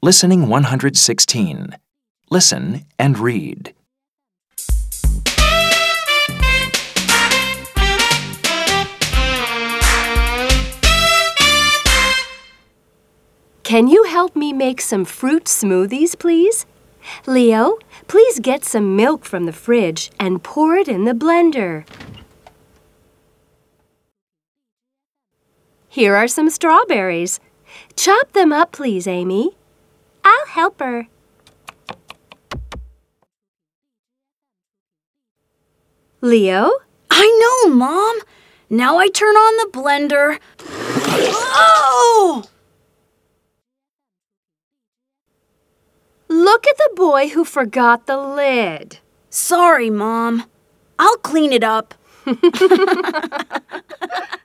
Listening 116. Listen and read. Can you help me make some fruit smoothies, please? Leo, please get some milk from the fridge and pour it in the blender. Here are some strawberries. Chop them up, please, Amy. I'll help her. Leo? I know, Mom. Now I turn on the blender. Oh! Look at the boy who forgot the lid. Sorry, Mom. I'll clean it up.